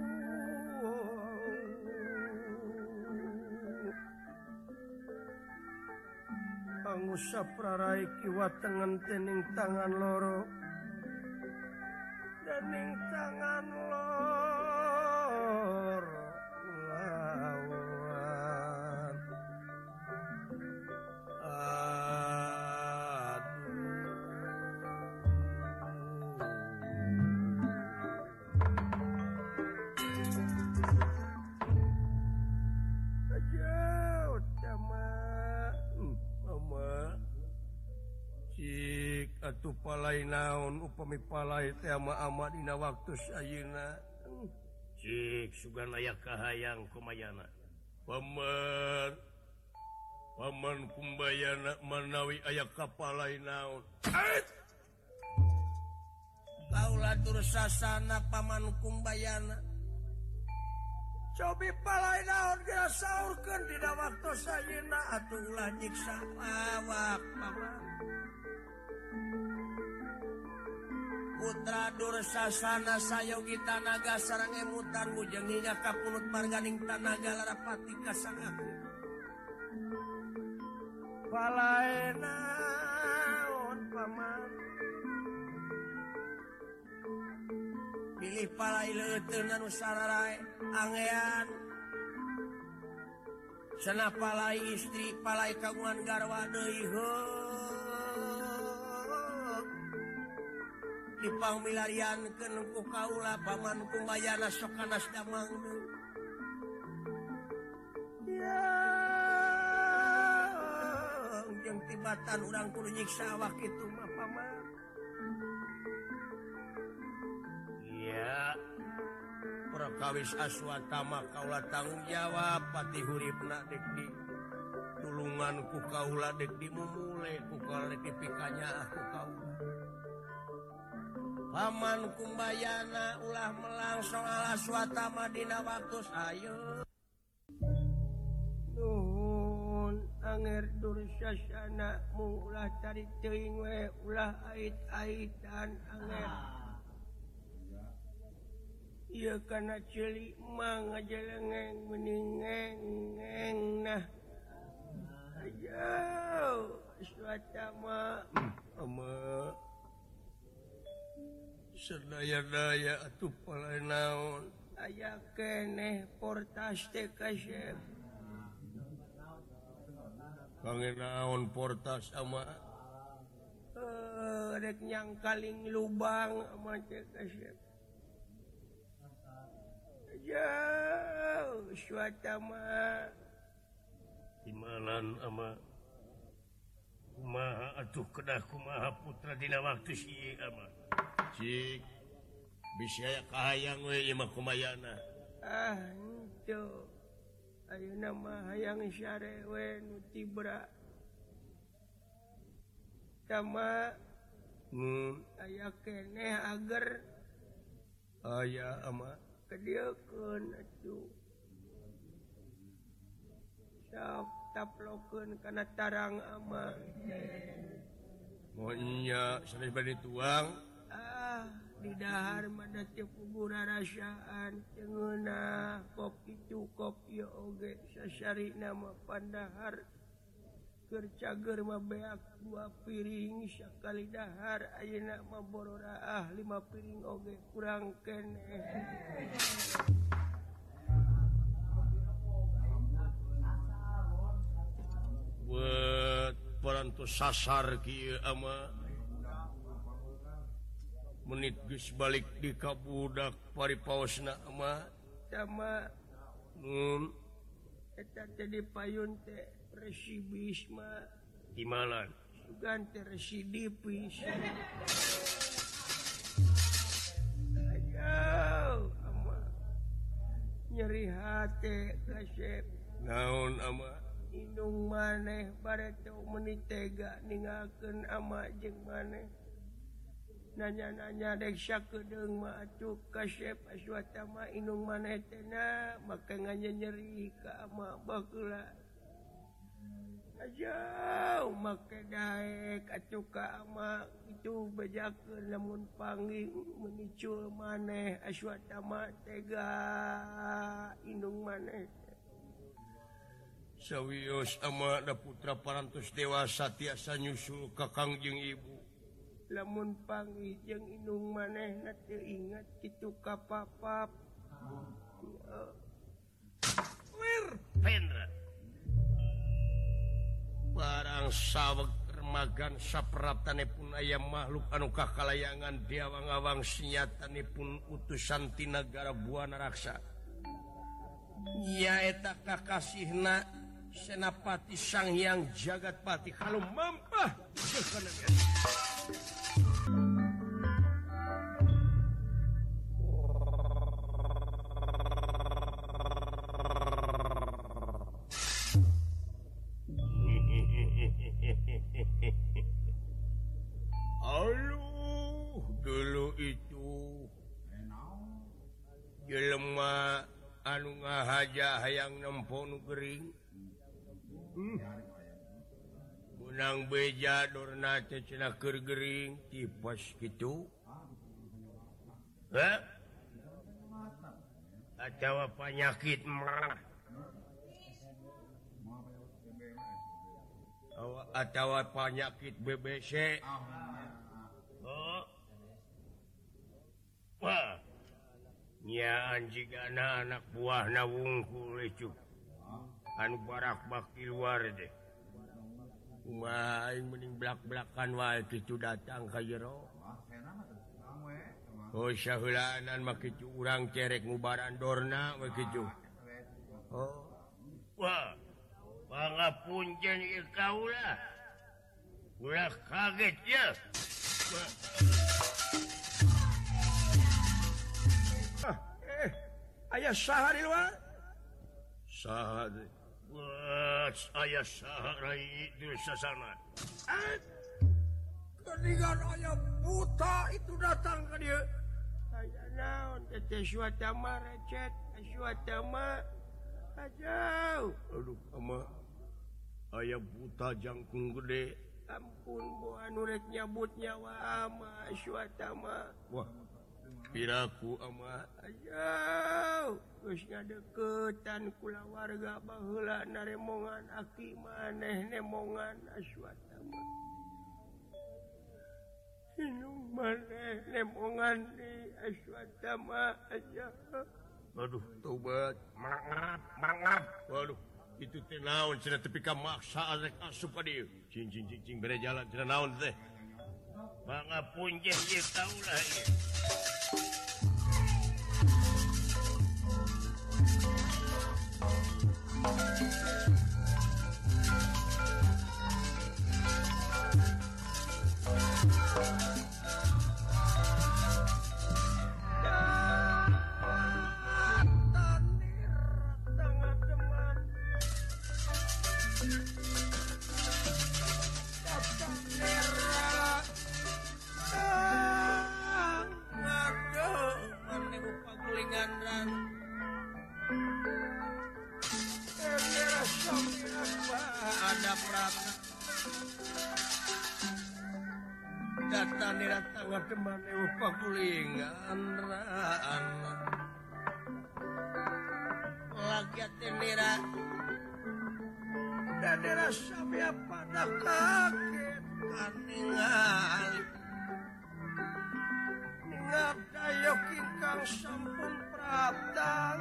angusap rarai kiwa tengen tening tangan loro dening tangan loro lawan aduh atuh palai naon upami palai teh ama-ama dina waktu ayeuna cik sugan aya kahayang kumayana paman paman kumbayana manawi aya kapalai naon kaula dursasana paman kumbayana cobi palai naon geus saurkeun dina waktu ayeuna atuh ulah nyiksa awak paman putra dursasana sayogi tanaga sareng emutan mujenginya kapunut marganing tanaga larapati kasangaku palai naon paman pilih palai leuteun anu sararae angean cenah palai istri palai kagungan garwa deui heuh dipang milariankeun ku kaula paman kumbayana sok kanas damang ya jeung tibatan urang kudu nyiksa awak kitu mah paman iya prakawis aswatama kaula tanggung jawab pati huripna dek di tulungan ku kaula dek dimumule ku kaula dek dipikanya aku kaula paman kumbayana ulah melang soal aswatama dina waktu ayeuna nuhun anger dursasana mu ulah cari teuing we ulah ait-aitan anger ieu kana ceuli mah ngajelengeng meningeng nah ayo aswatama ama sedaya-daya atuh palai naon aya keneh portas teh kasep kangen naon portas ama eh rek nyangkaling lubang ama teh kasep jauh suatama imanan ama kumaha atuh kedah kumaha putra dina waktu si ama cik bisa aya kahayang we ieu mah kumayana ah henteu ayeuna mah hayang syare we nu tibra tama hmm aya keneh ager aya ama kediekeun atuh sok taplokeun kana tarang ama moal nya sanes bade tuang ah di dahar mana teu puguh rasaan cengeunah kopi cukup ieu oge sasarina mah pandahar keur cager mah beak dua piring sakali dahar ayeuna mah bororaah lima piring oge kurang keneh buat parantos sasar kieu ama menit geus balik di kabudak paripaosna ama sama nun eta teh dipayun teh resibis mah di mana sugan teh residipis ayo ama nyeri hate kasep naon ama indung maneh bare teu meuni tega ninggalkeun ama jeung maneh nanya-nanya dek sakedeung mah atuh kasep aswatama indung maneh teh na make nganyeri ka ama baheula aja make daek atuh ka ama itu bejakeun lamun panggih menicul maneh aswatama tega indung maneh sawios ama da putra parantos dewasa tiasa nyusul kakang jeung ibu lamun panggih jeung indung manehna teu ingat kitu ka papap wir pendra barang saweg remagan sapratanipun aya makhluk anu kakalayangan diawang-awang senyatanipun utusan ti nagara buana raksa nya eta kakasihna Senapati Sang Hyang Jagatpati kalau mampah Aduh, dulu itu jelema anu ngahaja hayang nempo nu gering. Hmm. Menang beja dorna teh cenah keur gering tipes kitu. Hah? Atawa penyakit mah. Atawa penyakit B B C. Oh. Wah. Nya anjigana anak buahna wungkul lecuk. Anu barak baki luar deh. Wah, aing mending belak-belakan wae kitu datang ka jero. Oh, saheulaanan mah kitu urang cerek ngubaran dorna we kitu. Oh. Wah. Pangapunten ieu kaula. Ulah kaget ya. Ah, eh, aya saha di luar? Saha teh? Wah, aya saha rai di sasana. Eh, keningan aya buta itu datang ke dia. Aya naon teh suata mah recet, suata mah ajau. Aduh, ama aya buta jangkung gede. Ampun, bu anu rek nyabut nyawa ama suata mah. Wah, piraku ama ajau. Geus ngadeukeutan kula warga baheula naremongan aki maneh nemongan suata mah. Inung maneh nemongan di suata mah ajau. Aduh, tobat. Mangap, mangap. Waduh, itu teh naon cenah tepi ka maksa rek asup ka dieu. Cing cing cing cing bere jalan cenah naon teh. Mangapun je ieu kaula ieu. Datang di datang teman upa kulingan raan lagi tenira dadera samia pada kaget kaningali ningat dayo kingkang sampun pratang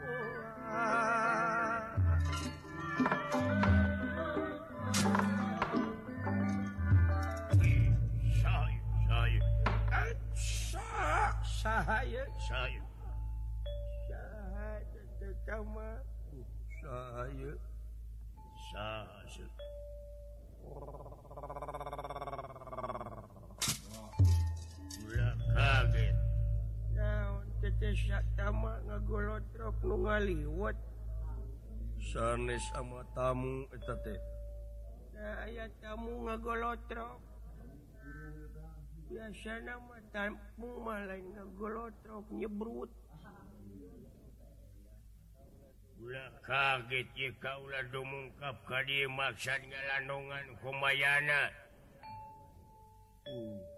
Sahaya Saya Sahaya Tetama Saya Saya Ulah kaget. Nah, tetes tama ngagolotrok nu ngaliwat. Sanes sama tamu eta teh. Nah, aya tamu ngagolotrok. Biasana mah tamu mah lain ngagolotrok nyebrut. Ulah kaget ye kaulah dumungkap ka dieu maksad ngalandongan kumayana. Uh.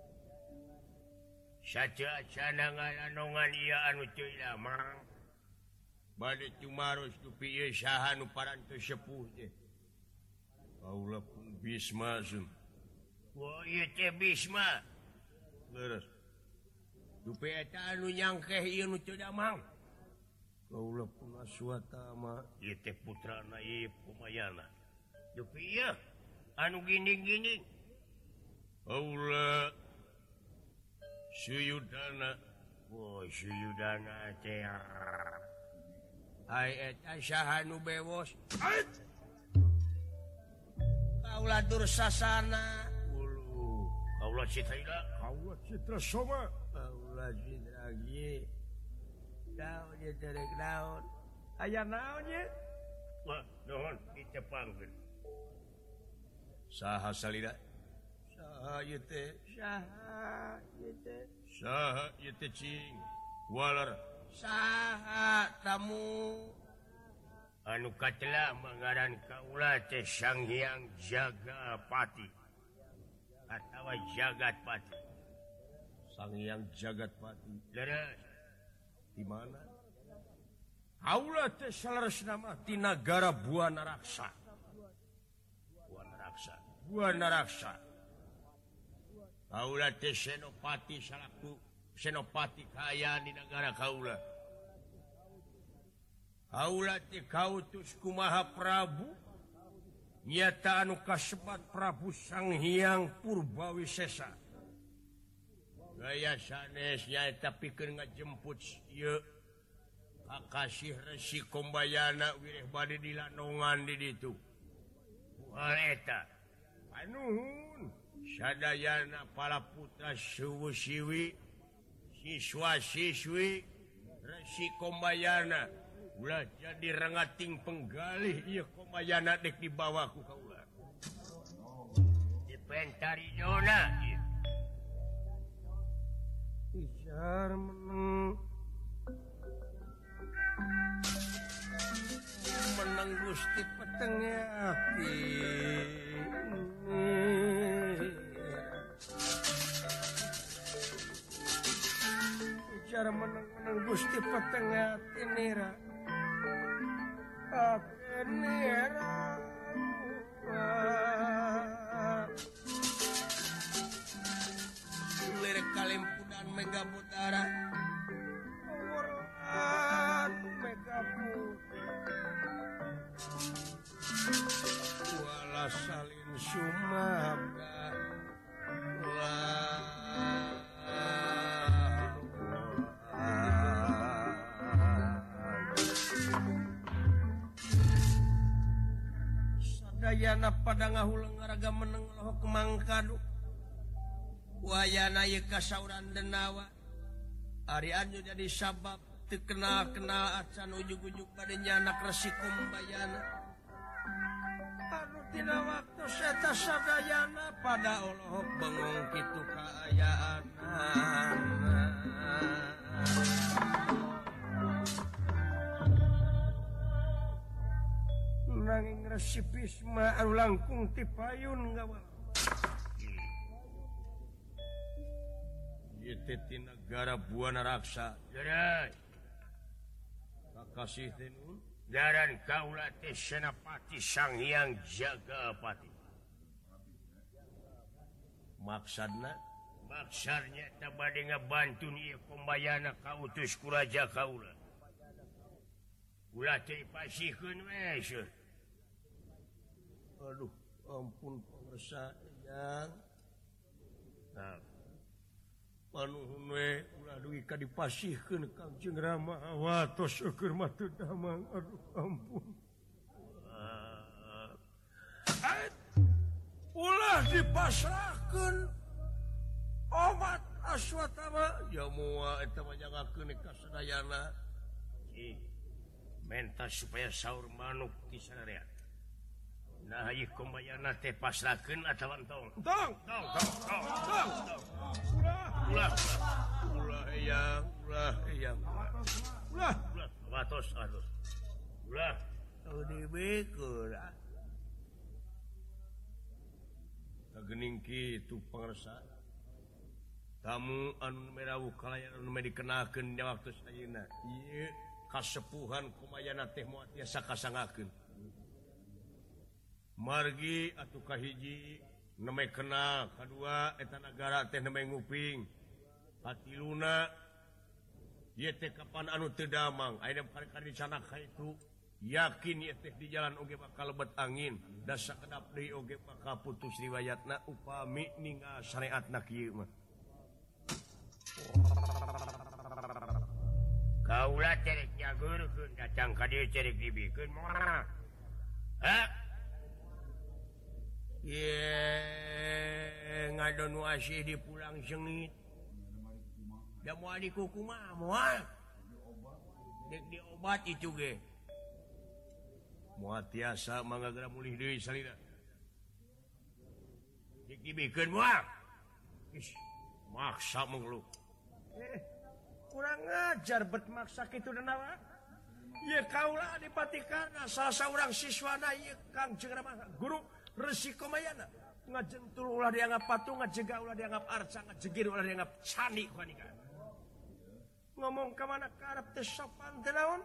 Saca-acana ngalandongan ieu anu teu lamang. Bade cumaros tu pieu saha nu parantos sepuh teh. Kaulah pun Bisma sun. Wah, ieu teh Bisma. Leres. Dupe eta anu nyangkeh ieu nu teu damang. Kaulah pun aswata mah ieu teh putrana ieu Kumayana. Dupe ieu anu gini-gini. Kaulah Suyudana. Wah, Suyudana teh. ai eta saha nu bewos. Ait. kaula Dursasana ulu kaula Citra Kaula Citra Soma. kaula Citra ge daun ye derek daun aya naon ye wah nuhun dicepangkeun saha salira saha ieu teh saha ieu teh saha ieu teh cing waler saha tamu anu katelah mangaran kaula teh Sang Hyang Jagapati atawa Jagatpati Sang Hyang Jagatpati leres di mana kaula teh salaresna mah ti nagara Buana Raksa Buana Raksa Buana Raksa kaula teh senopati salaku senopati kaya di negara kaula kaula teh kautus ku Maha Prabu nyata anu kasebat Prabu Sang Hyang Purbawisesa gaya sanes nyaeta pikeun ngajemput ieu Kakasih Resi Kombayana wireh bade dilanongan di ditu wah eta panuhun sadayana para putra suwu-siwi siswa-siswi Resi Kombayana ulah jadi rengating penggalih ieu Kombayana dek di bawah ku kaula dipentari Jona Ijar meneng meneng Gusti petengnya api Ijar meneng meneng Gusti petengnya api nira api nira lirik kalimpunan Mega Putara Wuran Mega Putara wala salin sumaga sadayana pada ngahulang ngaraga meneng loho kemangkadu wayana ye kasauran denawa ari anu jadi sabab teu kenal-kenal acan ujug-ujug bade nyanak Resi Kombayana anu tina waktu seta sadayana pada oloh bengong kitu kaayaanan nanging Resi Bisma anu langkung ti payun gawal di negara Buana Raksa leres Kakasih teh nun ngaran kaula teh Senapati Sang Hyang Jagapati maksudna maksarnya tak bade ngabantu ieu Kombayana kautus ku raja kaula ulah teh pasihkeun we seuh aduh ampun pangresa yang nah panuhun we ulah dugi ka dipasihkeun Kangjeng Rama watos eukeur mah teu damang aduh ampun uh, eh, ulah dipasrahkeun obat aswatama ya moal eta mah jangakeun ka sadayana si menta supaya saur manuk di sadarea nah ieu Kombayana teh pasrahkeun atawa entong tong tong tong tong tong ulah ulah ulah eyang ulah eyang ulah ulah watos aduh ulah teu dibeukeun kagening kitu pangresa tamu anu merawuh kalayan anu dikenalkeun di waktu sayeuna ieu kasepuhan Kombayana teh moal tiasa kasangakeun margi atuh kahiji nemeh kenal kadua eta nagara teh nemeh nguping katiluna ieu teh kapan anu teu damang aya kali-kali dicanak itu yakin ieu teh di jalan oge bakal lebet angin da sakedap deui oge bakal putus riwayatna upami ninggal syariatna kieu mah kaula cerek nyageurkeun datang ka dieu cerek dibikeun moal ha Ye ngadon wasih di pulang sengit. Da moal di kukumaha moal. Dek diobat itu ge. Moal tiasa mangga geura mulih deui salina. Dek dibikeun moal. Ish, maksa mengeluh. Eh, kurang ajar bet maksa kitu denawa. Ieu kaula dipatikarna salah saurang siswana ieu Kang jeung guru Resi Komayana ngajentul ulah dianggap patung, ngajega ulah dianggap arca, ngajegir ulah dianggap candi kuanika. Ngomong ke mana karep teh sopan teh naon?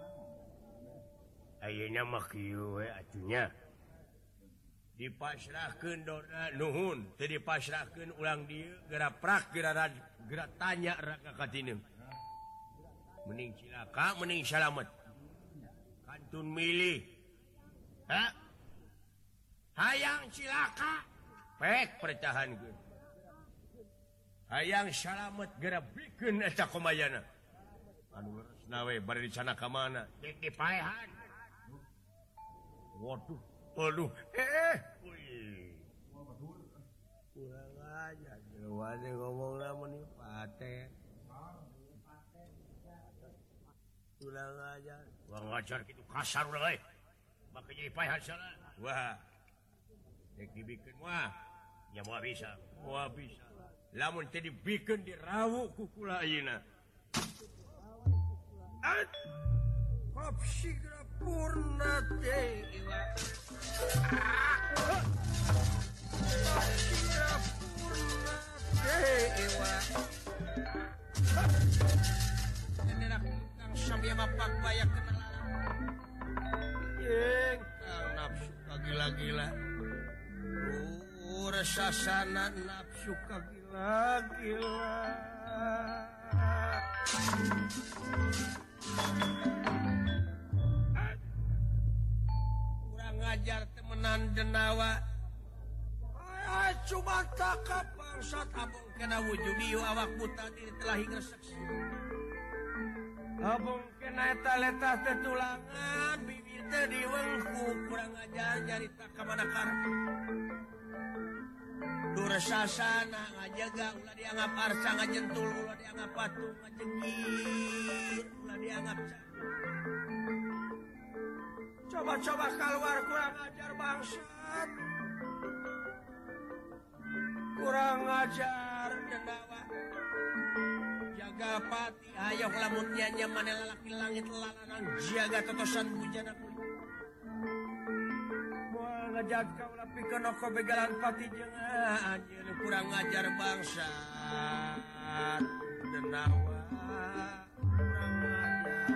Ayeuna mah kieu we atunya. Dipasrahkeun dona nuhun, teu dipasrahkeun ulang dieu geura prak geura geura tanya raka katineu. Mending cilaka, mending salamet. Kantun milih. Ha? Hayang cilaka, pek pertahankeun. Hayang salamet geura bikeun eta Komayana. Anu leresna we bari dicana ka mana? Dek dipaehan. Waduh, waduh, eh, wih. Kurang aja, jawabannya ngomong nama nih paten. Kurang aja, kurang ajar gitu kasar udah, eh. Maka jadi paehan salah. Wah. Dek dibikin wah, ya mau bisa, mau bisa. Lamun teh dibikin dirawu kukula ayeuna. At kopsi purna dewa. Kopsi purna dewa. Nenek kang samya mapak bayak kenalan. Yeng kang nafsu gila-gila. Resasana nafsu kagila-gila. Kurang ngajar temenan denawa. Ay, cuma tak bangsat abong kena wujud diu awak buta diri telah hingga saksi. Abong kena eta letah teh tulangan bibir teh diwengku kurang ngajar nyarita ka mana karep. Durasasana ngajaga ulah dianggap arca ngajentul ulah dianggap patung ngajengir ulah dianggap coba-coba keluar kurang ajar bangsat kurang ajar dendawa jaga pati hayok lamun nyanya mana lalaki langit lalanang jaga totosan bujana kulit ngajak kau lapi kenoko begalan pati jeung anjeun kurang ngajar bangsat denawa kurang ngajar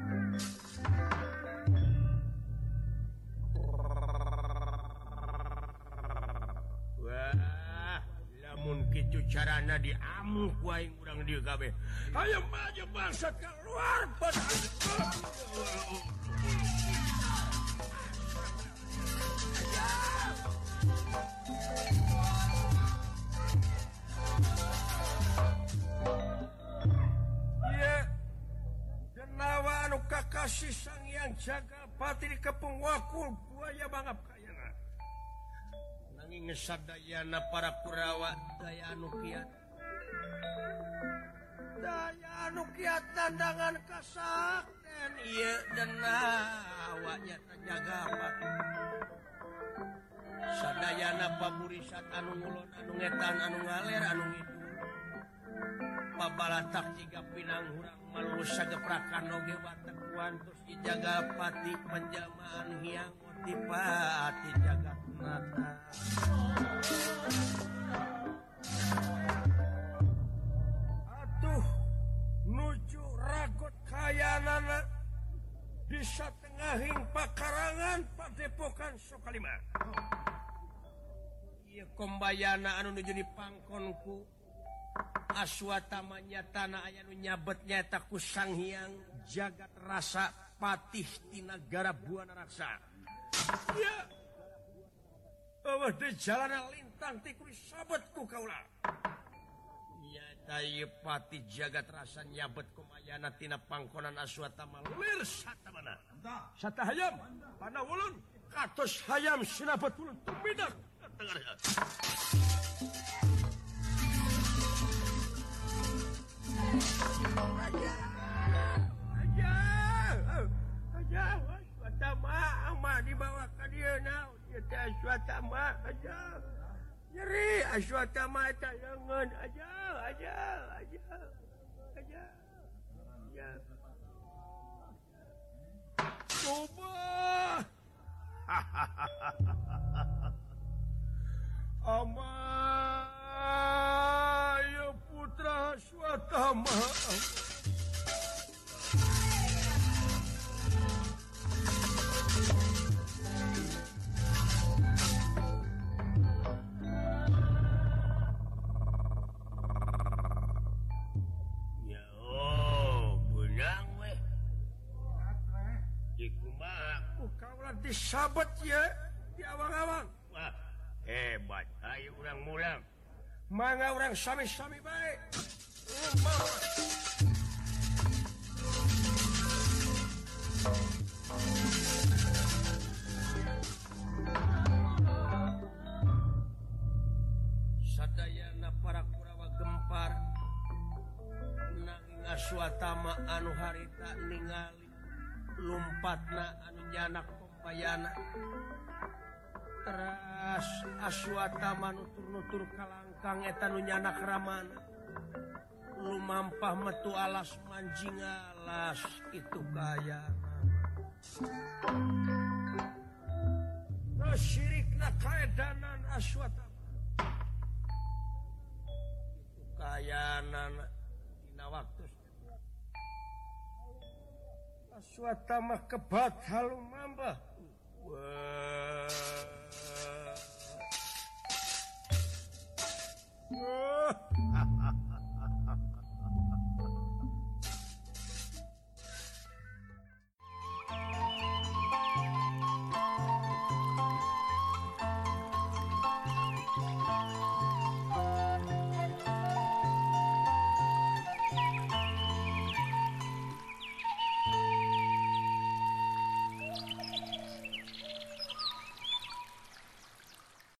wah lamun kitu carana diamuk wae urang dieu kabeh hayu maju bangsat keluar pati. Iya, denawa anu kakasih sang yang jaga pati di kepung wakul buaya bangap kayana. Nanging sadayana para Kurawa daya anu kiat. Daya anu kiat tandangan kasakten iya denawa nyata jaga pati. Sadayana paburisat anu ngulon anu ngetan anu ngaler anu ngidul pabalatak jiga pinang hurang malurus sageprakan oge watek kuantos dijaga pati penjamaan hiang otipati jagat nata atuh nuju ragot kayanana bisa tengahing pakarangan padepokan Sokalima. Ieu Kombayana anu nuju di pangkonku Aswatama nyatana aya nu nyabet nyaeta ku Sang Hyang Jagat Rasa Patih ti Nagara Buana Raksa. Ya. Eueuh teh jalana lintang ti kudu sabet ku kaula. Nyata ieu Patih Jagat Rasa nyabet Komayana tina pangkonan Aswatama lir satamana. Satahayam panawulun katos hayam sinapet ulun tumidak dibawa ke dia aja nyeri aswatama tayangan aja aja aja aja ya coba Amaya putra Swatama sahabat ya di awang-awang hebat ayo urang mulang mangga orang sami-sami baik sadayana para Kurawa gempar nanging Aswatama anu harita ningali lumpatna anu nyanak Bayana teras Aswatama nutur-nutur kalangkang eta nu nyanak ramana lumampah metu alas manjing alas itu kayana nasyirikna kaedanan Aswatama itu kayana dina waktu Aswatama kebat halumambah